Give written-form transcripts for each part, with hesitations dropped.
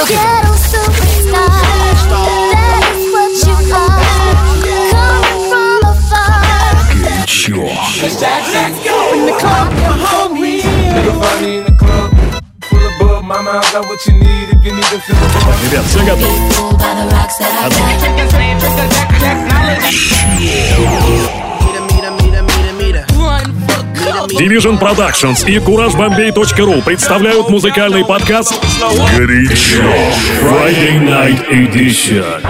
Ghetto superstar, that is what you are. Coming from afar. Горячо. Let's go in the club, you're hungry. Nigga find me in the club, full of bug. Mama, I got what you need if you need to feel the bug. Ребят, все готовы? Division Productions и CourageBombay.ru представляют музыкальный подкаст «Горячо» Friday Night Edition.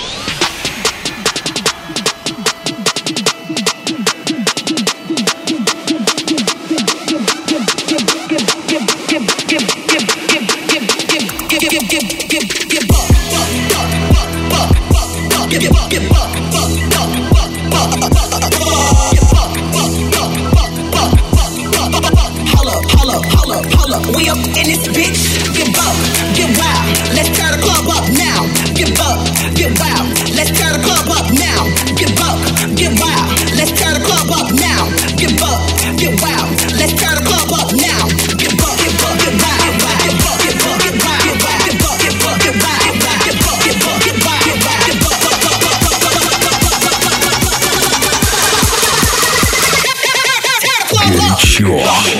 We up in this bitch, get up, get wild, let's turn the club up now. Get up, get wild, let's turn the club up now. Get up, get wild, let's turn the club up now. Get up, get wild, let's turn the club up now. Get up, get up, get wild, get up, get up, get wild, get up, get up, get wild, get up, get up, get up, get wild, get up. Горячо.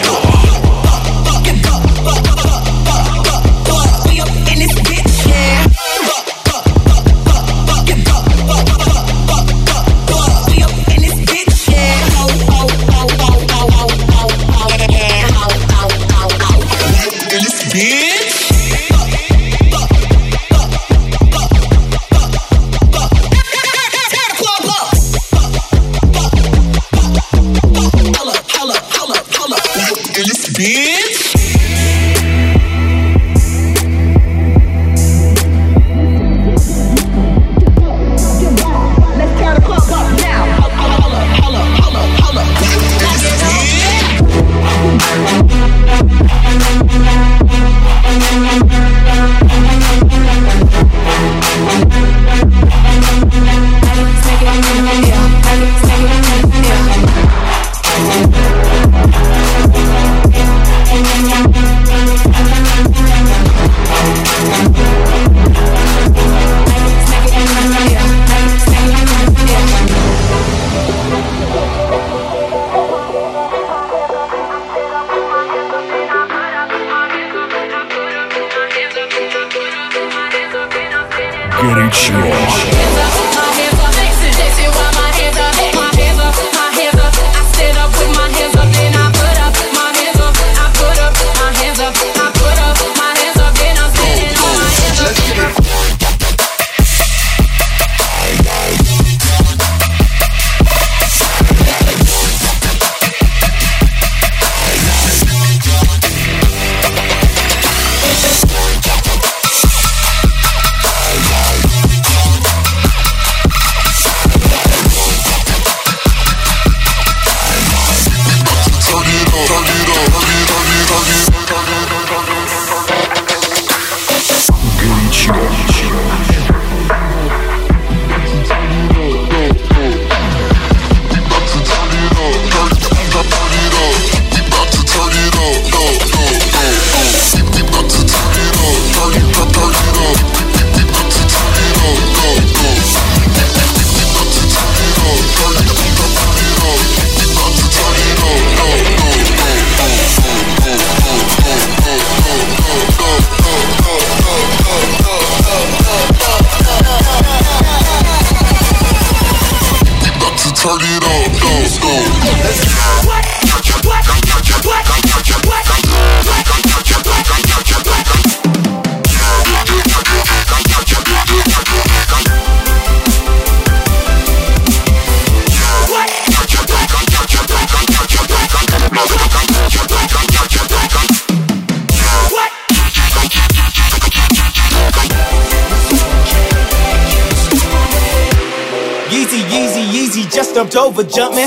Jumped over jumping.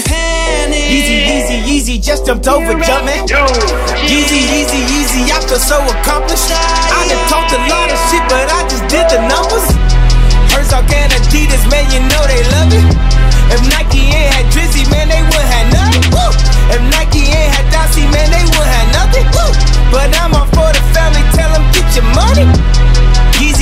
Yeezy, just jumped over jumping. Yeezy, I feel so accomplished. I done talked a lot of shit, but I just did the numbers. Herzog and Adidas, man, you know they love it. If Nike ain't had Drizzy, man, they wouldn't have nothing. Woo! If Nike ain't had Dossie, man, they wouldn't have nothing. Woo! But I'm all for the family, tell them get your money.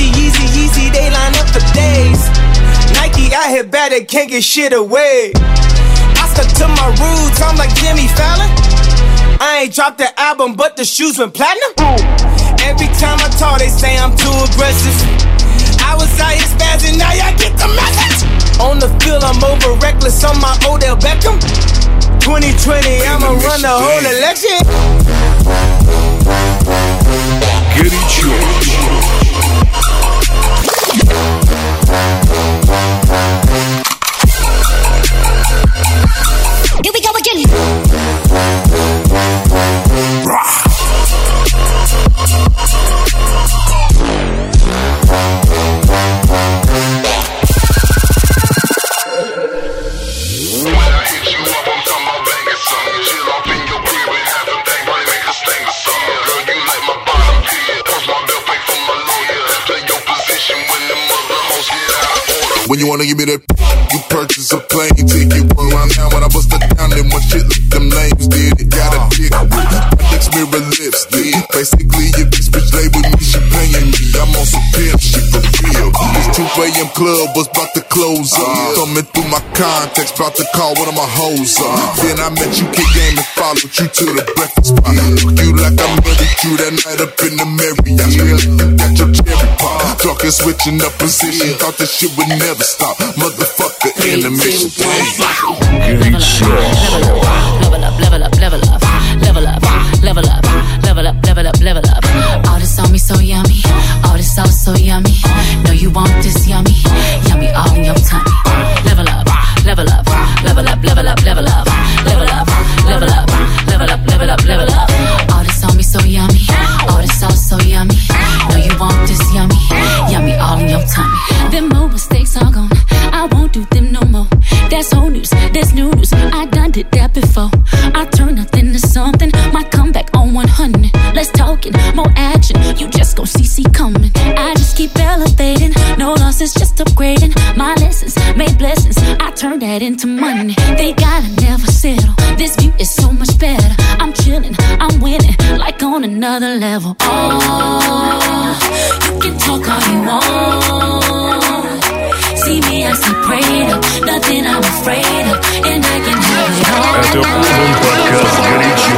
I hit bad, they can't get shit away. I stuck to my roots, I'm like Jimmy Fallon. I ain't dropped the album, but the shoes went platinum. Every time I talk, they say I'm too aggressive. I was out here spazzing, now y'all get the message. On the field, I'm over reckless on my Odell Beckham. 2020, I'ma run the whole election. Горячо. Here we go again. When you wanna give me that, you purchase a plane ticket. Roll around now when I bust it down, then one shit like them names did. It got a dick with next mirror lipstick. Basically, if this bitch lay with me, she paying me. I'm on some pimp shit for real. This 2 a.m. club was about to close up. Thumbing through my contacts, about to call one of my hoes up. Then I met you, kick game, and followed you to the breakfast spot. Fuck you like I murdered you that night up in the Marriott. You got your cherry pop. Talking switching up position, thought this shit would never stop. Motherfucker in the mission. Горячо. Level up, level up, level up, level up, level up, level up, level up, level up. All this on me so yummy, all this sauce so yummy. Know you want this yummy, yummy all in your tummy. Level up, level up, level up, level up, level up, level up, level up, level up, level up, level up. All this on me so yummy, all this sauce so yummy. Know you want this yummy, yummy all in your tummy. Them old mistakes are gone, I won't do them no more. That's old news, that's new news. I done did that before. I turn nothing to something. Might come back on 100. Less talking, more action. You just gon' see coming. I just keep elevating. No losses, just upgrading. My lessons made blessings. I turn that into money. They gotta never settle. This view is so much better. I'm chilling, I'm winning, like on another level. Oh, you can talk all you want. See me, I see prayed up, nothing I'm afraid of, and I can have it all. Это полный подкаст «Горячо».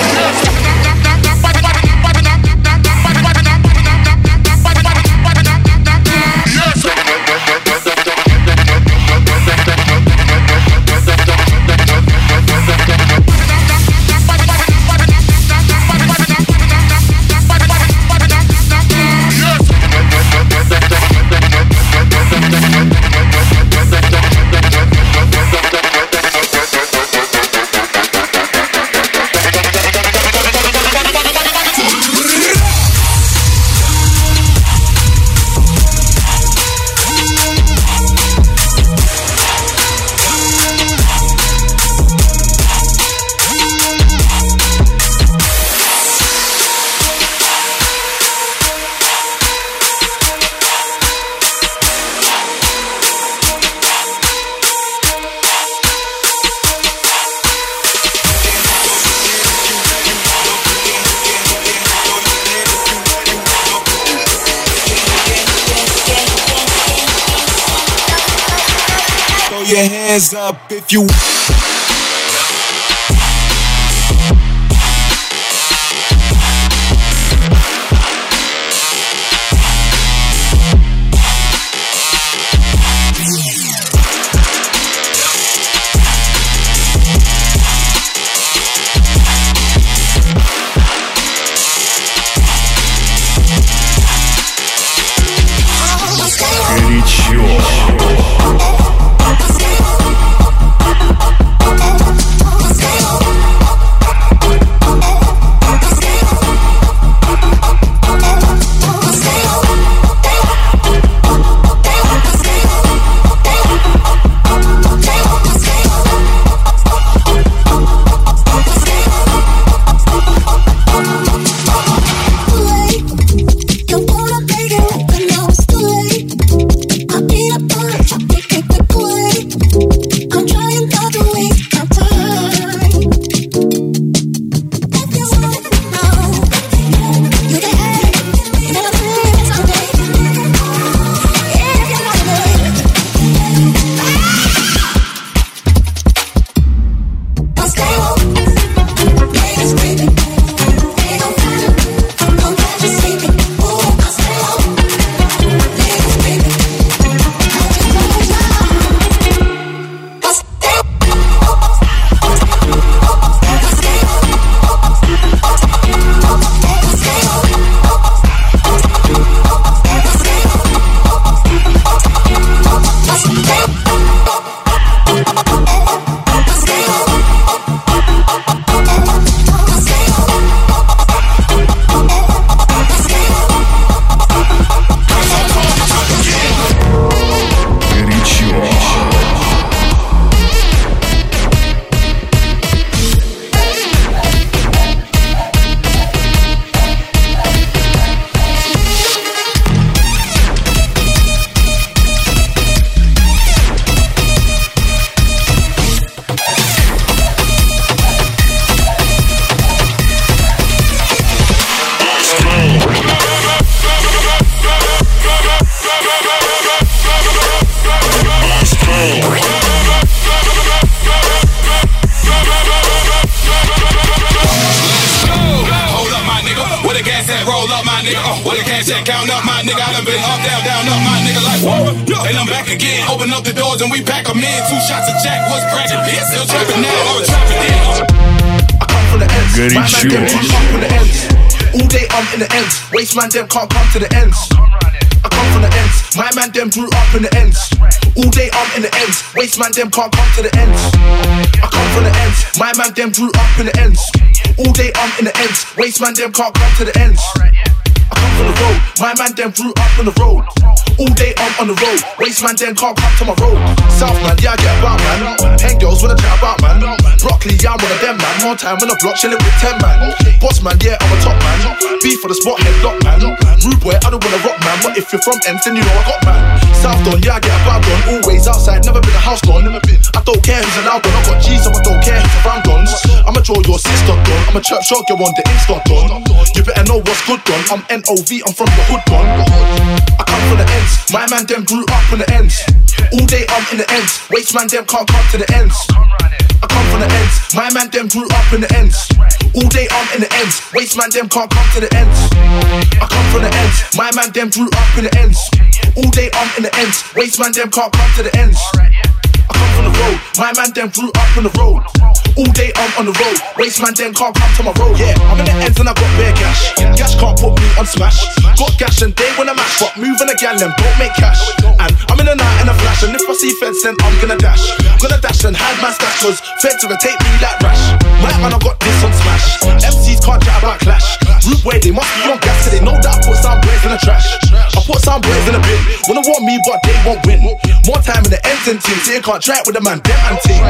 Your hands up if you Горячо. my nigga. I done been up, down, up, my nigga. Like whoa, and I'm back again. Open up the doors and we pack 'em in. 2 shots of Jack, what's cracking? Still trapping now, I was trapping then. I come from the ends. My man Горячо. them come from the ends. All day I'm in the ends. Waste man them can't come to the ends. I come from the ends. My man them grew up in the ends. All day I'm in the ends. Waste man them can't come to the ends. I come from the ends. My man them grew up in the ends. All day I'm in the ends. Waste man them can't come to the ends. I come from the road. My man them grew up on the road. All day I'm on the road. Waste man them can't come to my road. South man, yeah I get about man. Hang girls when I chat about man. Broccoli, yeah I'm one of them man. More time on the block chilling with 10 man. Boss man, yeah I'm a top man. Beef for the spot, headlock man. Rude boy, I don't wanna rock man. But if you're from Ents, then you know I got man. South Don, yeah I get about Don. Always outside, never been a house Don. I don't care who's allowed Don. I got G's, so I don't care who's around Dons. I'ma draw your sister Don. I'ma church shot you on the Insta Don. You better know what's good Don. I'm NOV, I'm from the hood Don. I come from the ends. My man them grew up in the ends. All day I'm in the ends. Waste man them can't come to the ends. I come from the ends. My man them grew up in the ends. All day I'm in the ends. Waste man them can't come to the ends. I come from the ends. My man them grew up in the ends. All day I'm in the ends. Waste man them can't come to the ends. I come from the road. My man them grew up on the road. All day I'm on the road. Waste man them can't come to my road. Yeah, I'm in the ends and I got bare cash. Cash can't put me on smash. Got cash and they wanna match, but moving a gal them don't make cash. And I'm in the night and a flash, and if I see feds then I'm gonna dash. Gonna dash and hide my stash, cause feds will take me like rash. My man I got this on smash. MCs can't chat about clash. Root way they must be on gas, so they know that I put some boys in the trash. I put some boys in the bin. Wanna want me but they won't win. More time in the ends and teams, they can't try it with the man, them and team.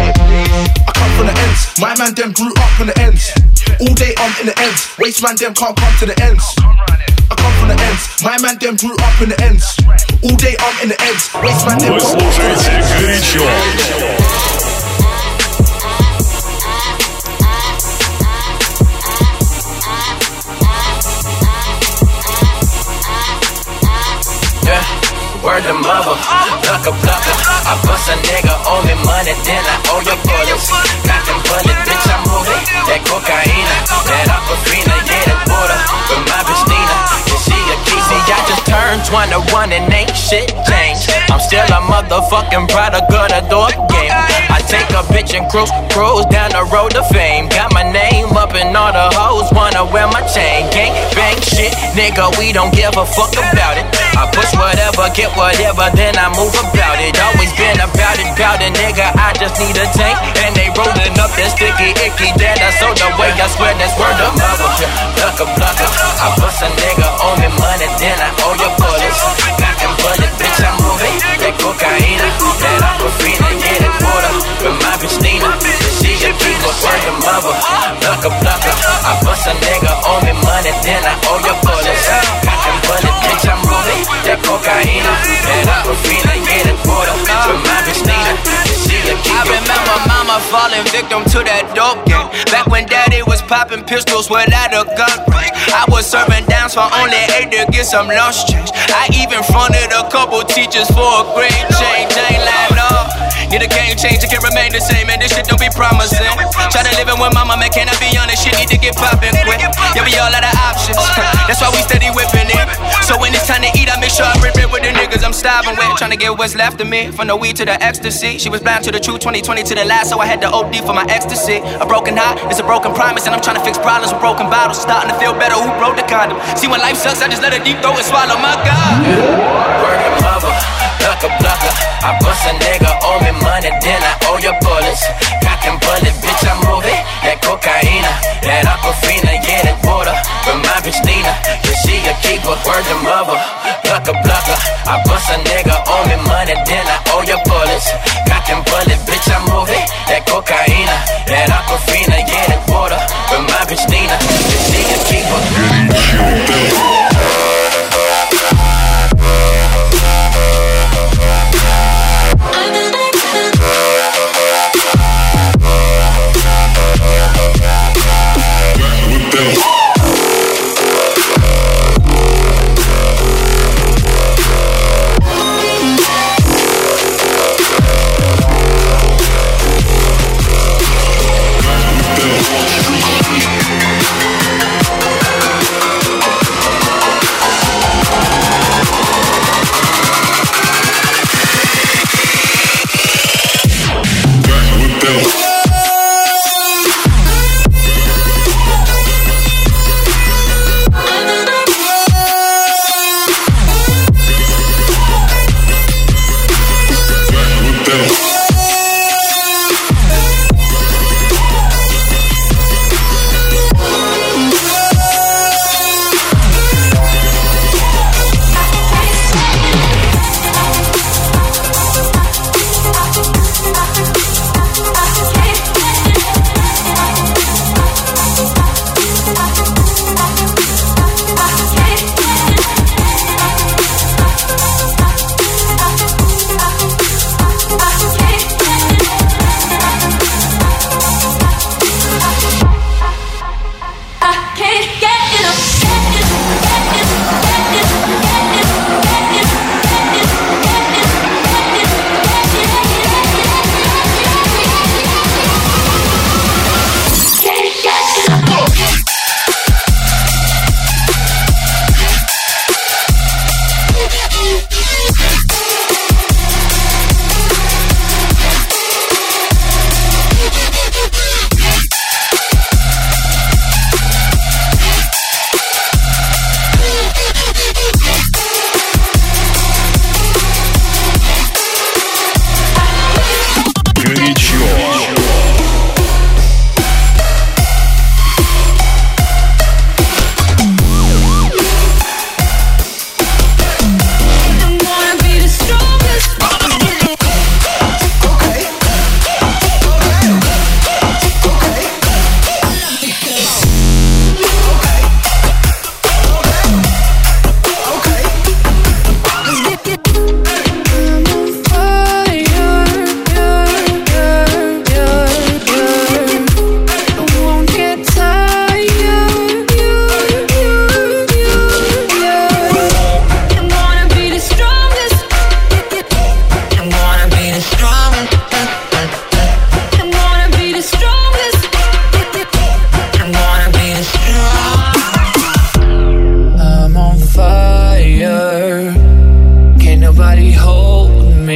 I come from the ends. My man them grew up in the ends. All day I'm in the ends. Waste man them can't come to the ends. I come from the ends. My man them grew up in the ends. All day I'm in the ends. Waste man them Вы can't come to the слушаете ends. горячо. Word to mother, plucker. I bust a nigga, owe me money, then I owe your bullets. Got them bullet, bitch, I'm moving. That cocaine, that aquafina, yeah, that water. With my bitch Nina, yeah, she a Kizzy. I just turned 21 and ain't shit changed. I'm still a motherfucking product of the door game. I take a bitch and cruise down the road to fame. Got my name up and all the hoes wanna wear my chain. Gang bang shit, nigga, we don't give a fuck about it. I push whatever, get whatever, then I move about it. Always been about it, nigga, I just need a tank. And they rolling up that sticky, icky, that I sold away, I swear that's word of mother. Plucker, I bust a nigga, owe me money, then I owe your bullets. Got them bullet, bitch, I'm moving. That cocaine, that aquafina, yeah, that water. With my bitch Nina, she a keeper, word of mother. Plucker, I bust a nigga, owe me money, then I owe your bullets. Got them bullet, bitch, I'm moving. That cocaine, that aquafina, yeah, that water. With my bitch Nina, she a keeper. I remember mama falling victim to that dope game. Back when daddy was popping pistols without a gun range. I was serving downs for only 8 to get some lunch change. I even fronted a couple teachers for a grade change. I ain't lying, no. Need a game change, it can remain the same, and this shit don't be promising. Tryna live in with mama, man, can I be honest? Shit need to get poppin' quick. Yeah, we all out of options. That's why we steady whipping it. So when it's time to eat, I make sure I rip it with the niggas I'm starving with. Tryna get what's left of me, from the weed to the ecstasy. She was blind to the truth, 2020 to the last, so I had to OD for my ecstasy. A broken heart is a broken promise, and I'm tryna fix problems with broken bottles. Starting to feel better, who broke the condom? See, when life sucks, I just let a deep throat and swallow my God. Word of mother, plucker. I bust a nigga, owe me money, then I owe your bullets. Cock and bullet, bitch, I'm moving. That cocaine, that aquafina, yeah, that water. With my bitch Nina, yeah, she a keeper. Word to mother, plucker. I bust a nigga, owe me money, then I owe your bullets. Cock and bullet, bitch, I'm moving. That cocaine, that aquafina, yeah, that water. With my bitch Nina, yeah, she a keeper.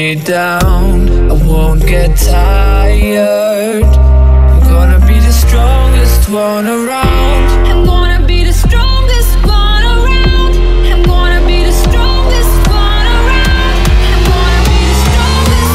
me down, I won't get tired. I'm gonna be the strongest one around. I'm gonna be the strongest one around. I'm gonna be the strongest one around. I'm gonna be the strongest,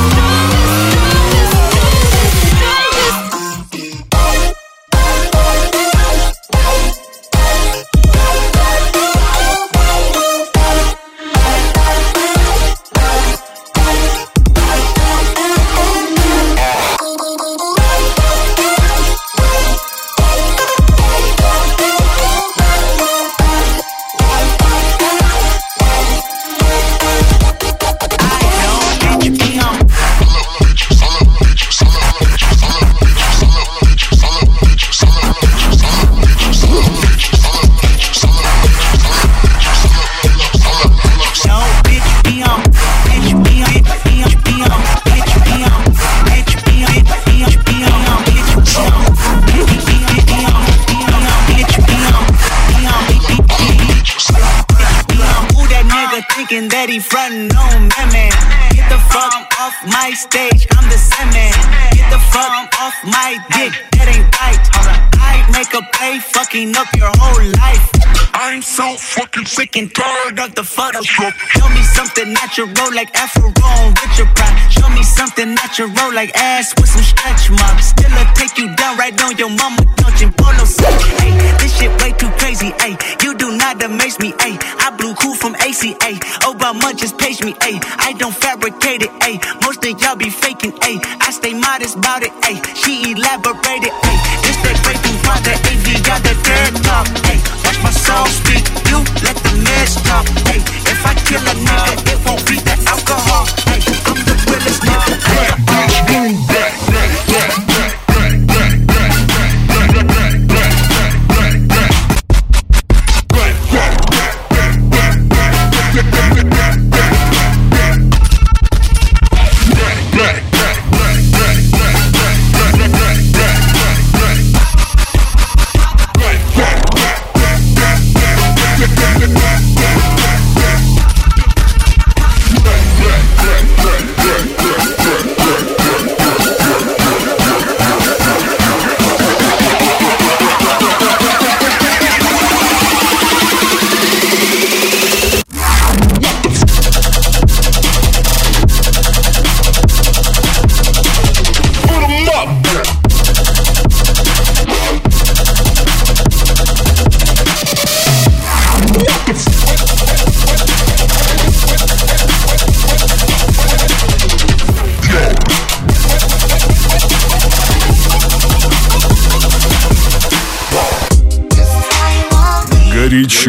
that he frontin' on me, man. Get the fuck off my stage, I'm the same man. Get the fuck off my dick, that ain't right. I make a play, fucking up your whole life. I'm so fucking sick and tired of the Photoshop. Show me something natural like Afro on Richard Pryor. Show me something natural like ass with some stretch marks. Still I'll take you down right on your mama couch in polo suit. Ay, this shit way too crazy, ay. You do not amaze me, ay. I blew cool from ACA. Obama just paged me, ay. I don't fabricate it, ay. Most of y'all be faking, ay. I stay modest about it, ay. She elaborated, ay. This that breaking part, the AV got the third talk, ay. Watch my soul speak, you let the mess talk, ay. If I kill a nigga, it won't be the alcohol, ay. I'm the realest nigga, ay. Горячо.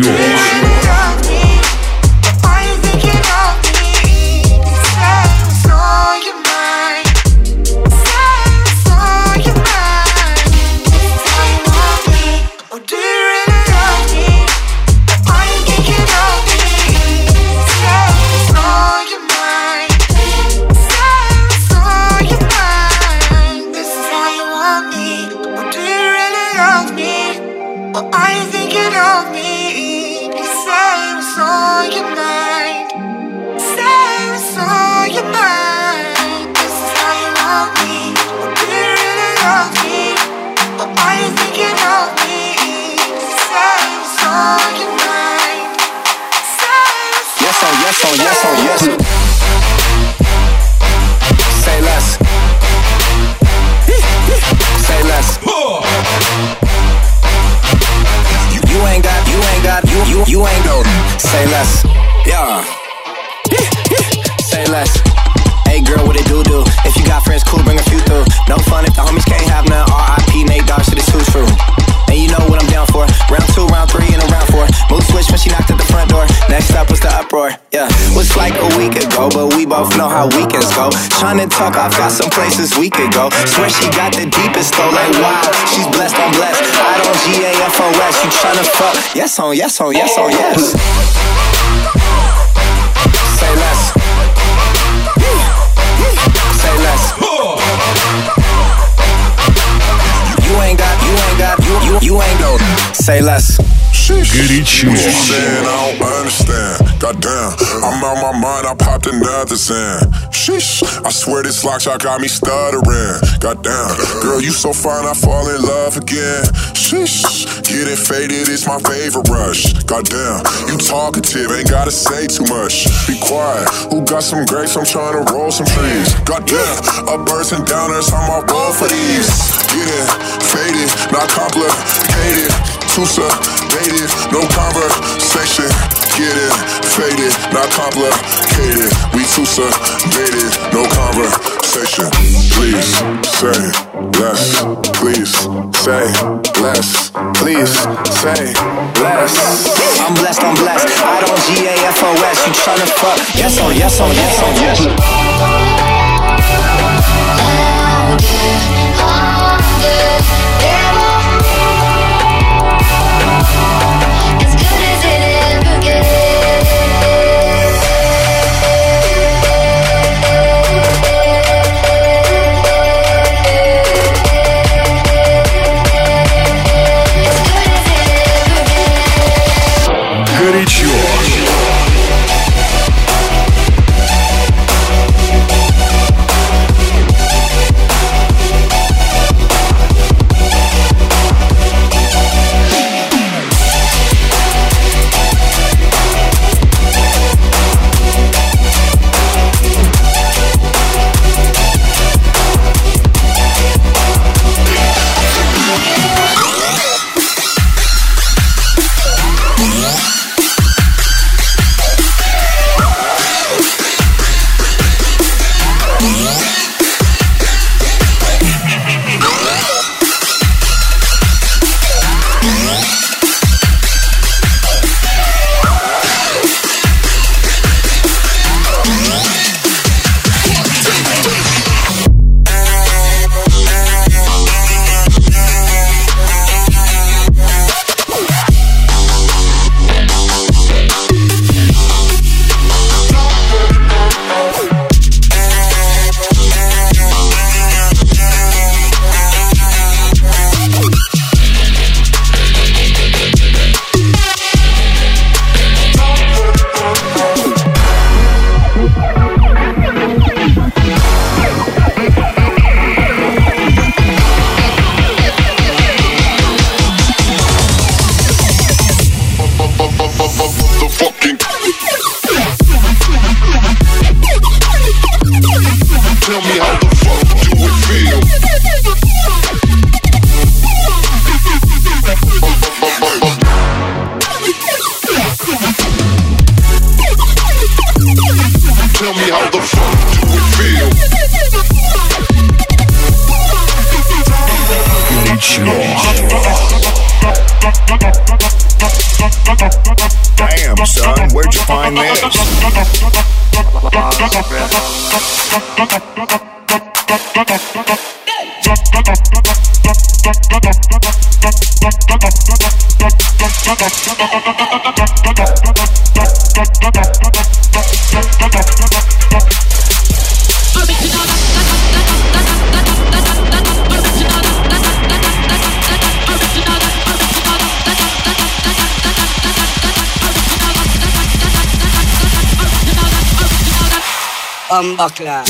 You ain't go. Say less. Yeah. Say less. Hey girl, what it do? If you got friends, cool, bring a few through. No fun if the homies can't have none. R.I.P. Nate Dogg, shit is too true. And you know what I'm down for. Round 2, round 3, and a round 4. Mood switch when she knocked at the front door. Next up was the uproar. Yeah, was like a week ago, but we both know how weekends go. Tryna talk, I've got some places we could go. Swear she got the deepest though, like wow. She's blessed, I'm blessed. I don't GAFOS. You tryna fuck? Yes on, yes on, yes on, yes. Say less. Say less. You ain't go. Say less. Горячо. What you saying? I don't understand. Goddamn, I'm out my mind. I popped another Zan. Sheesh, I swear this lock shot got me stuttering. Goddamn, girl, you so fine, I fall in love again. Sheesh, getting faded is my favorite rush. Goddamn, you talkative, ain't gotta say too much. Be quiet, who got some grapes? I'm trying to roll some trees. Goddamn, uppers and downers, I'm all roll for these. Getting faded, not complicated. Too sedated, no conversation. Getting faded, not complicated. We too sedated, no conversation. Please say less. Please say less. Please say less. I'm blessed, I'm blessed. I don't GAFOS. You tryna fuck? Yes on, yes on, yes on, yes. I'm good. As good as it ever gets. Горячо. Damn, son, where'd you find this? Buckler.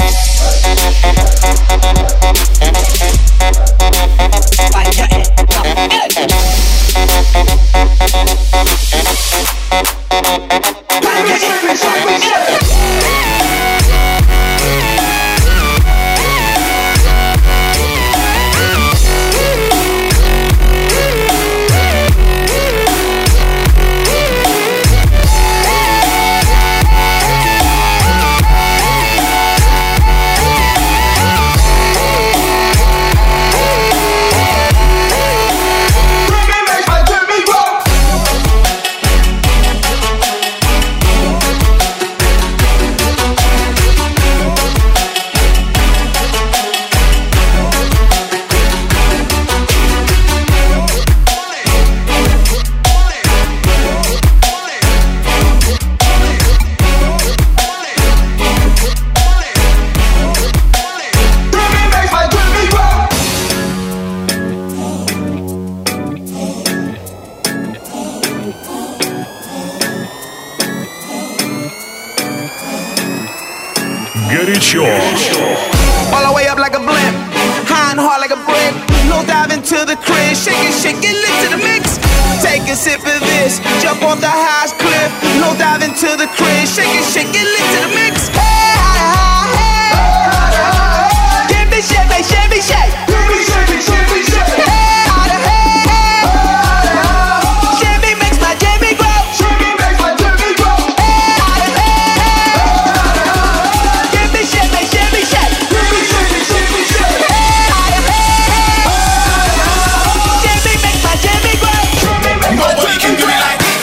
Горячо. All the way up like a blimp, high and hard like a brick. No dive into the crib, shake it, lit to the mix. Take a sip of this, jump off the highest cliff. No dive into the crib, shake it, lit to the mix. Hey, hey, hey. Give me shake, shake me shake. Give me shake. Hey, hey, hey. Jimmy makes my Jimmy grow. Jimmy makes my Jimmy grow. Hey, hey, hey. Give me shake, shake me shake. Give me shake. Hey, hey, hey. Jimmy makes my Jimmy grow. Nobody can do it like me.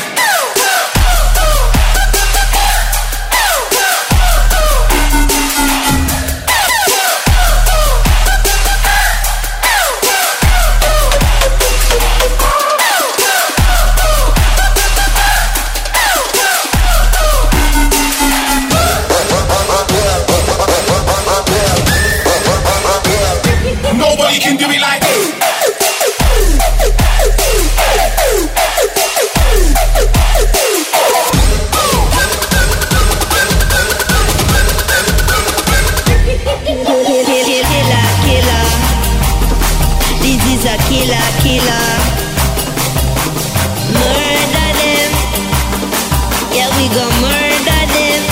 Nobody can do it like me. Killer. This is a killer. Murder them. Yeah, we gon' murder them.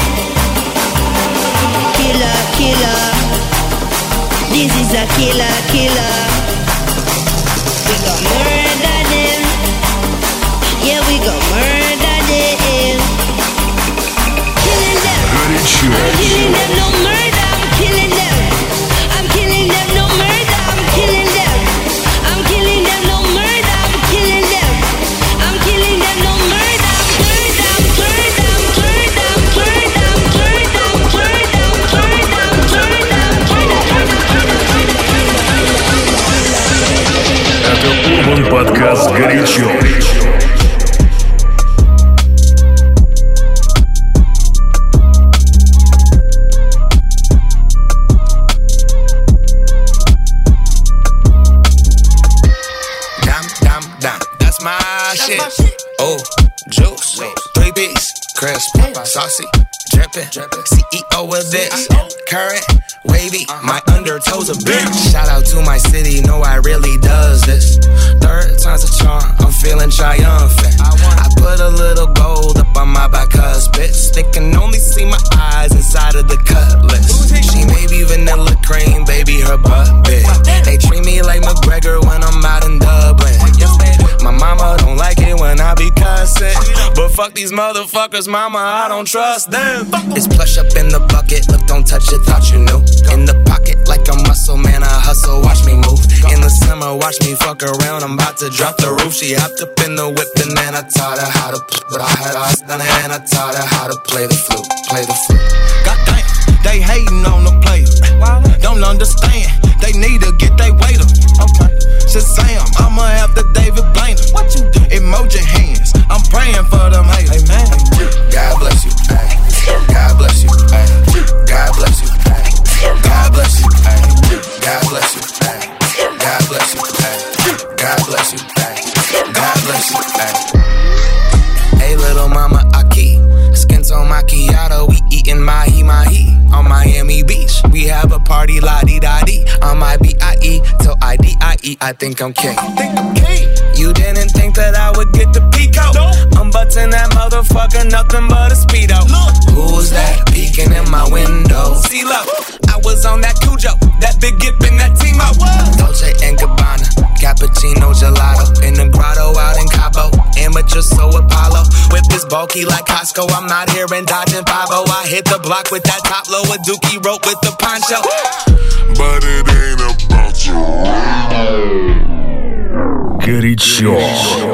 Killer. This is a killer. We gon' murder them. Yeah, we gon' murder them. Killing them. Горячо. I'm killing them, no murder. I'm killing them. I'm killing them, no murder. I'm killing them. I'm killing them, no murder. I'm killing them. I'm killing them, no murder. Это Урбан подкаст «Горячо». That's my shit. Oh, juice, 3-piece, crisp, saucy, drippin'. CEO of this, current, wavy. My undertoes a bitch. Shout out to my city, know I really does this. Third time's a charm, I'm feeling triumphant. I put a little gold up on my back bitch. They can only see my eyes inside of the cutlass. She may be vanilla cream, baby, her butt big. They treat me like McGregor when I'm out in Dublin. My mama don't like it when I be cussing, but fuck these motherfuckers, mama, I don't trust them. It's plush up in the bucket, look, don't touch it, thought you knew. In the pocket like a muscle, man, I hustle, watch me move. In the summer, watch me fuck around, I'm about to drop the roof. She hopped up in the whip and then I taught her how to, but I had her done it and I taught her how to play the flute. Goddamn, they hating on the player. Don't understand, they need to get their weight up. Okay. Shazam, I'ma have the David Blaine. What you do? Emoji hands, I'm praying for them haters. Amen. God bless you, ay. God bless you, ay. God bless you, ay. God bless you, ay. God bless you, ay. God bless you, ay. God bless you, ay. God bless you, ay. Hey, little mama, Aki. Skin tone macchiato, we eatin' mahi on Miami Beach. We have a party, la-di-da-di. On my B.I.E. till I-D-I-E, I think I'm king. You didn't think that I would get the peacoat? I'm butting that motherfucker, nothing but a speedo. Who's that peeking in my window? CeeLo, I was on that Cujo, that big gip in that Timo. Dolce & Gabbana, cappuccino gelato. In the grotto out in Cabo, amateur so Apollo. Whip is bulky like Costco, I'm out here and dodging 5-0. I hit the block with that top low, a dookie rope with the poncho. But it ain't about you. Горячо.